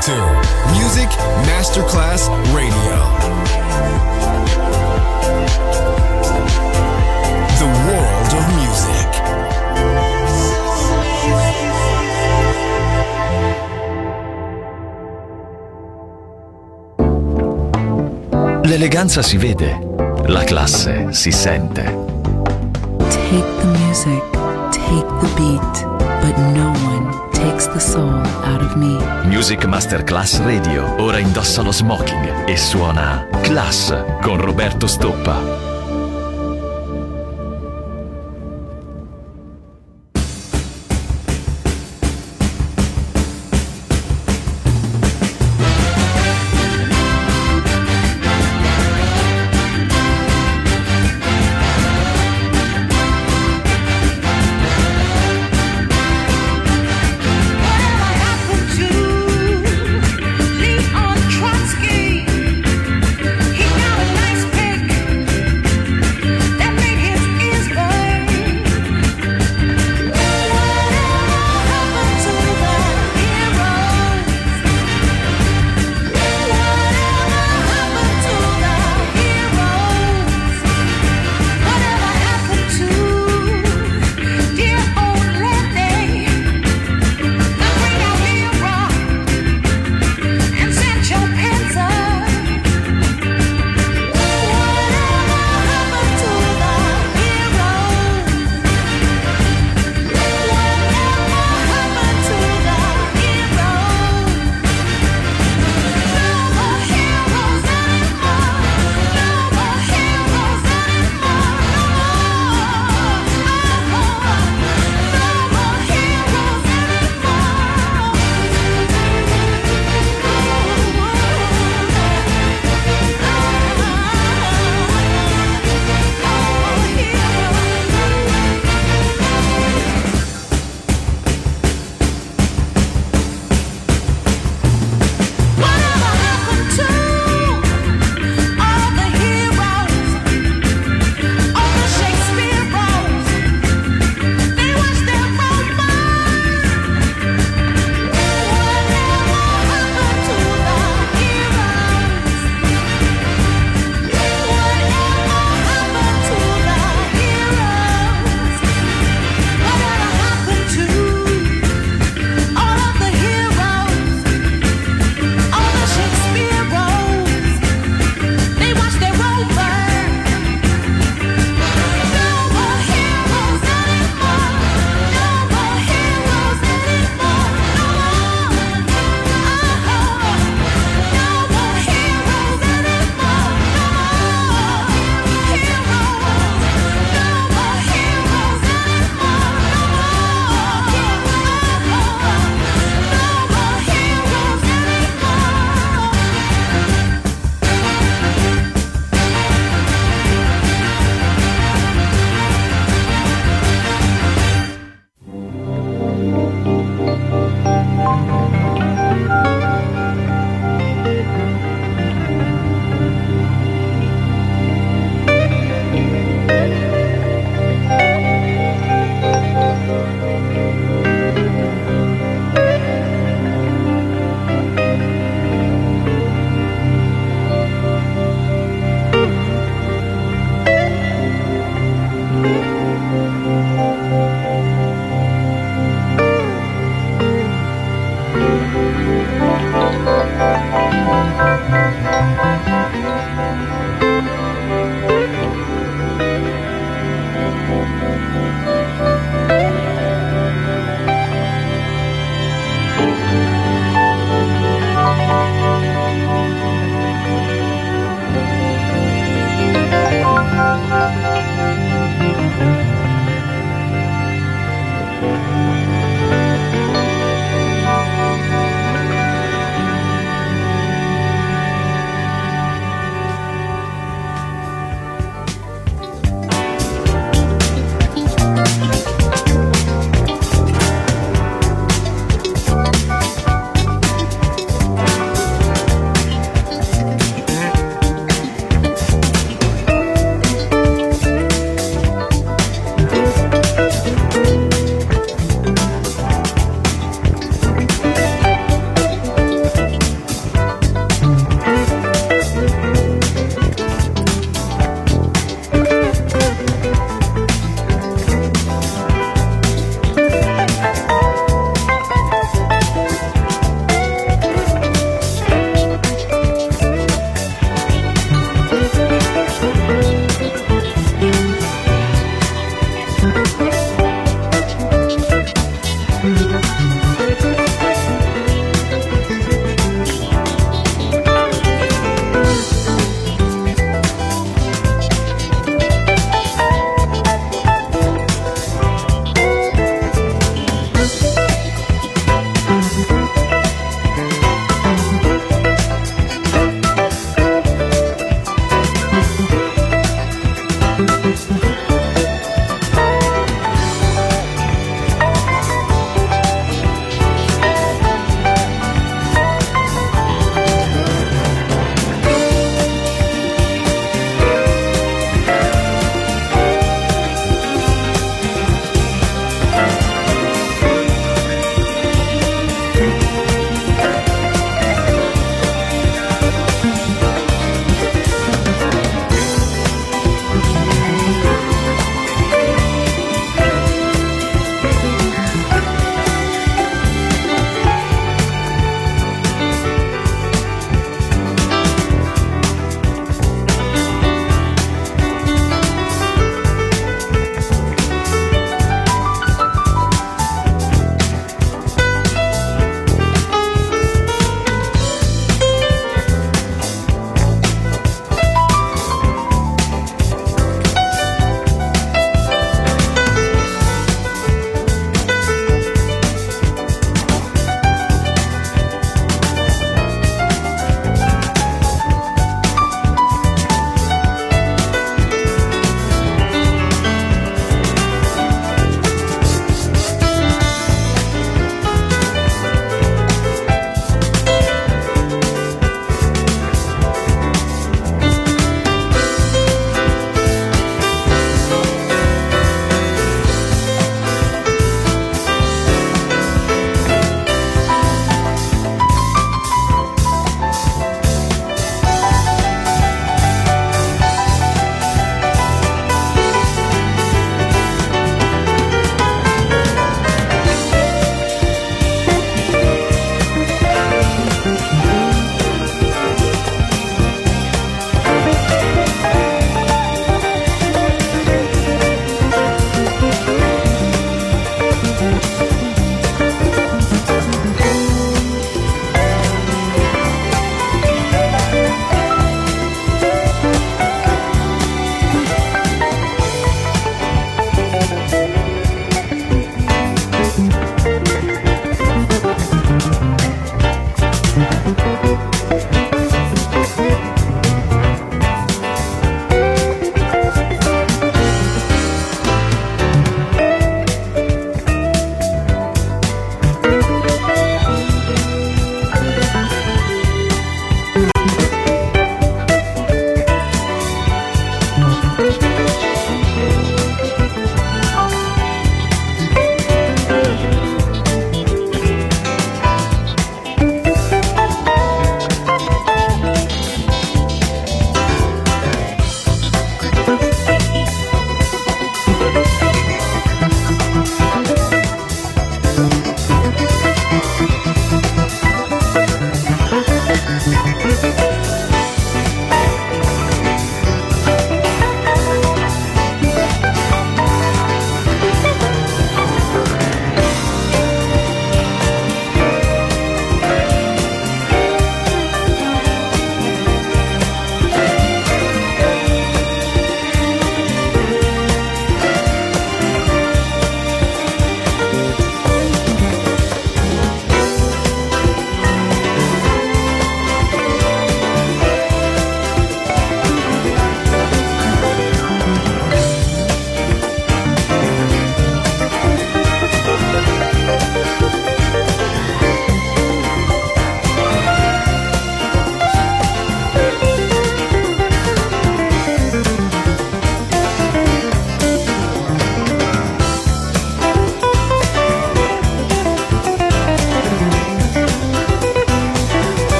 to Music Masterclass Radio. The world of music. L'eleganza si vede, la classe si sente. Take the music, take the beat, but no one takes the soul out of me. Music Masterclass Radio ora indossa lo smoking e suona Class con Roberto Stoppa. He got a nice pick.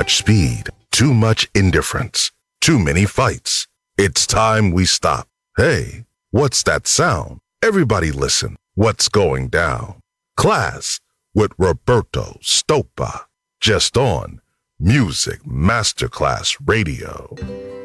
much speed, too much indifference, too many fights. It's time we stop. Hey, what's that sound? Everybody listen. What's going down? Class with Roberto Stoppa. Just on Music Masterclass Radio.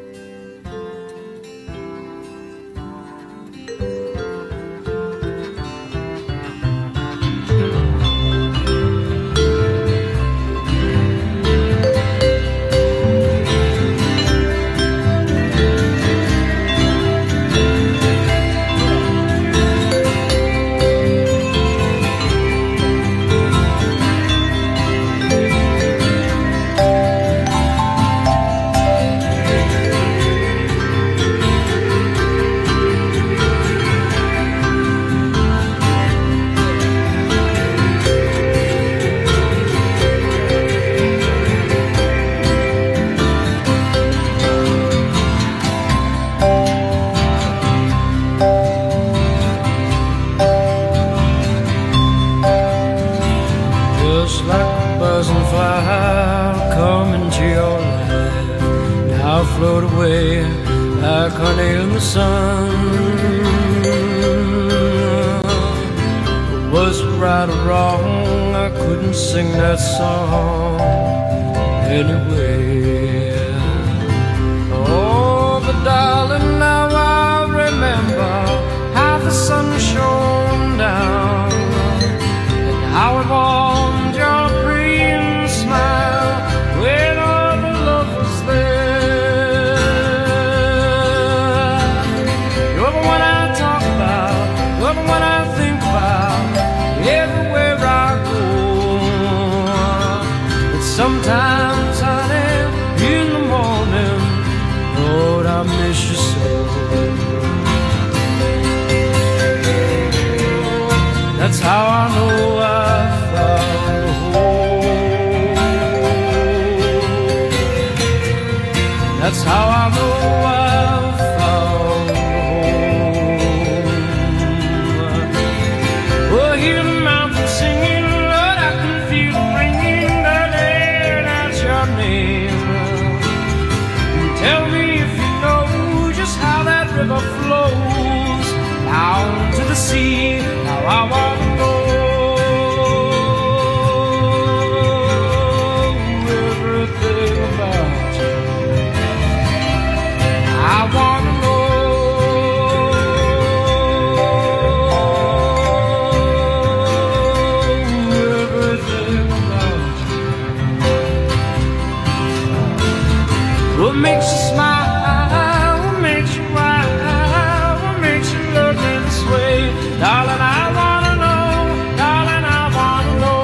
Float away like honey in the sun. Was it right or wrong? I couldn't sing that song anyway. Oh, but darling, now I remember how the sun shone down and how it warmed your green smile when all the love was there. What I think about everywhere I go. But sometimes, honey, in the morning, Lord, I miss you so. That's how I know I found a home. That's how I know I found a home. Oh, hear the mountains singing, Lord, I can feel it ringing, darling, that's your name. Tell me if you know just how that river flows down to the sea. Now I want to know everything about you. I want to know everything about you. What makes you smile? What makes you cry? What makes you look this way? Darling, I want to know. Darling, I want to know.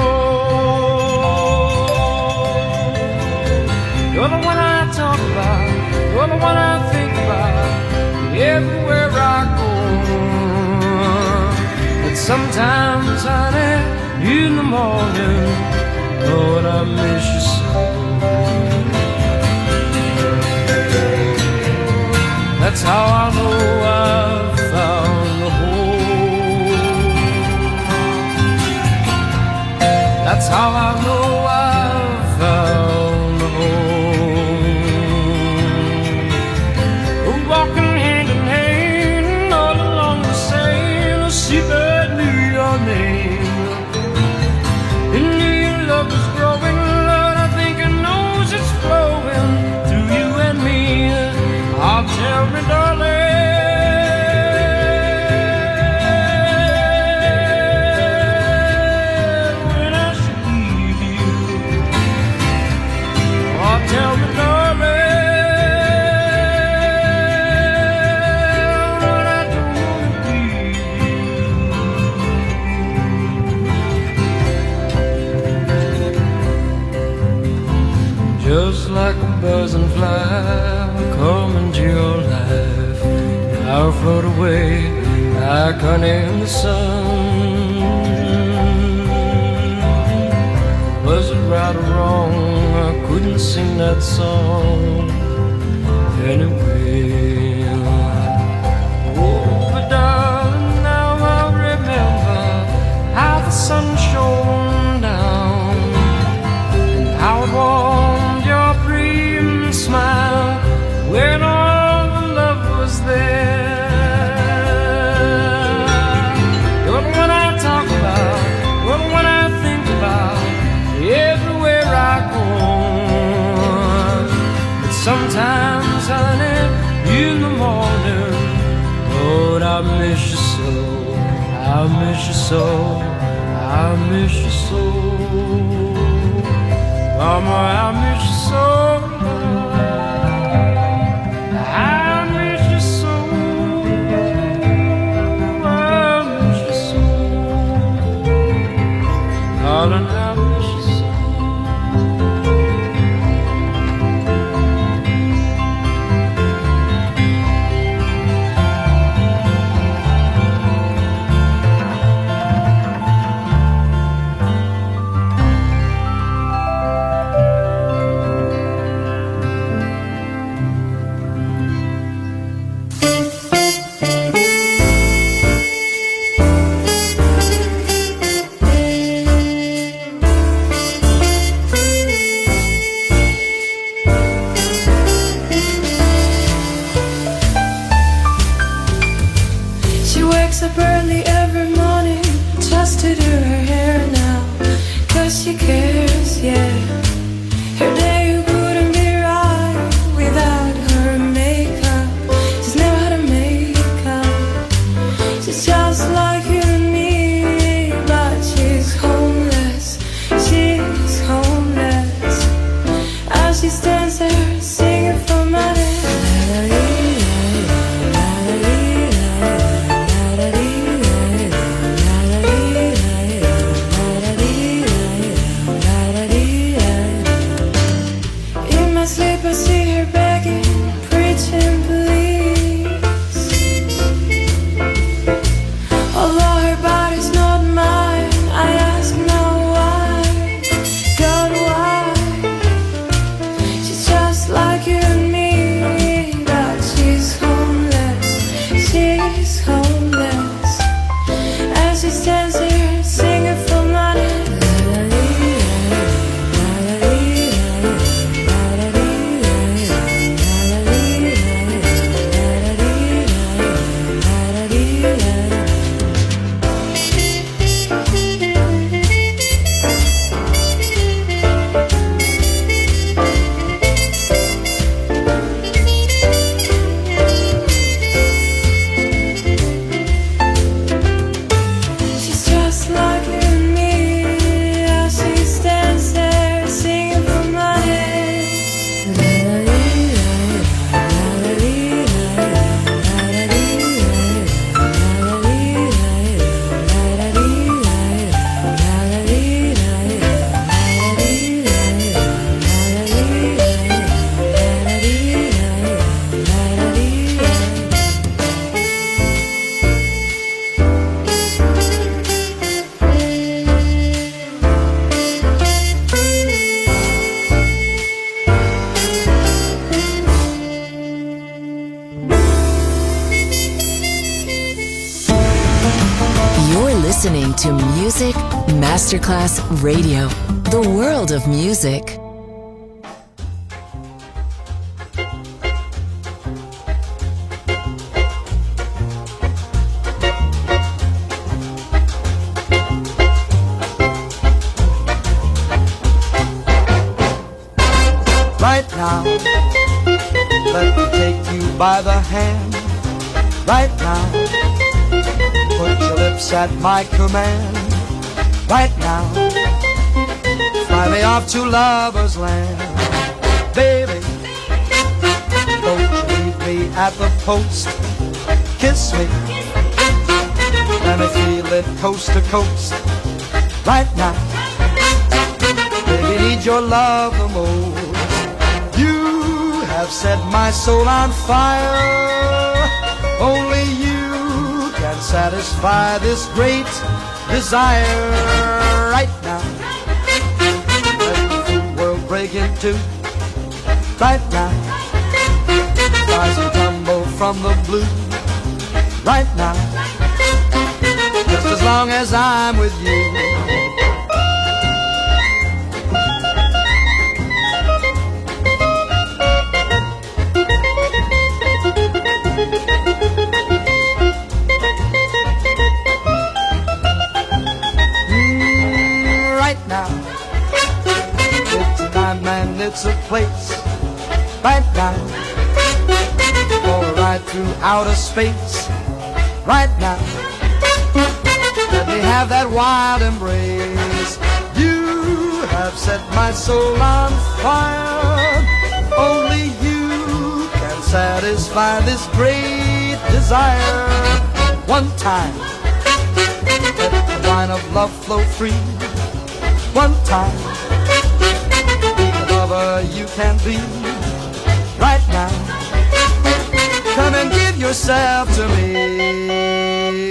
You're the one I talk about. You're the one I think about everywhere I go. But sometimes, honey, in the morning, Lord, I miss you so. That's how I know I've found a home. That's how I know I've found a home. Walking hand in hand all along the Seine, a seabird knew your name. And knew your love was growing, Lord, I think it knows it's flowing through you and me. Oh, tell me, darling, when I should leave you. Oh, tell me, darling, when I don't want to leave you. Just like a buzzing fly come into your life, I'll float away like honey in the sun. Was it right or wrong? I couldn't sing that song anyway. Oh, but darling, now I remember how the sun shone down and how it warmed your I miss you so, I miss you so. Mama, I miss you so. I miss you so. I miss you so. Darling, I miss you so. Up early every morning just to do her hair now, 'cause she cares, yeah. Her day couldn't be right without her makeup. She's never had a makeup. She's just like you and me, but she's homeless. She's homeless. As she stands there singing for money. I see her begging, preaching, please. Although her body's not mine, I ask now why, God, why? She's just like you and me, but she's homeless, she's homeless. As she stands here singing for money. Listening to Music Masterclass Radio, the world of music. Right now, let me take you by the hand. Right now, put your lips at my command. Right now, fly me off to lover's land. Baby, don't you leave me at the post. Kiss me, let me feel it coast to coast. Right now, baby, need your love the most. You have set my soul on fire. Only you can satisfy this great desire. Right now, let the full world break in two. Right now, rise and tumble from the blue. Right now, just as long as I'm with you. It's a place right now for a ride through outer space. Right now, let me have that wild embrace. You have set my soul on fire. Only you can satisfy this great desire. One time, let the wine of love flow free. One time, be the lover you can be. Right now, come and give yourself to me.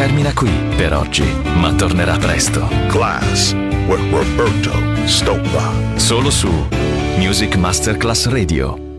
termina qui per oggi, ma tornerà presto. Class with Roberto Stoppa. Solo su Music Masterclass Radio.